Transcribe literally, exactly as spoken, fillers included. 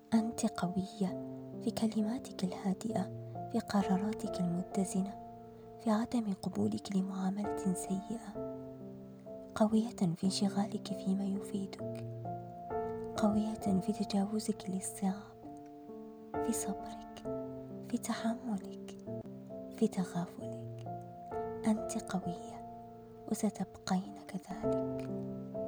أنت قوية في كلماتك الهادئة، في قراراتك المتزنة، في عدم قبولك لمعاملة سيئة، قوية في انشغالك فيما يفيدك، قوية في تجاوزك للصعاب، في صبرك، في تحملك، في تغافلك. أنت قوية وستبقين كذلك.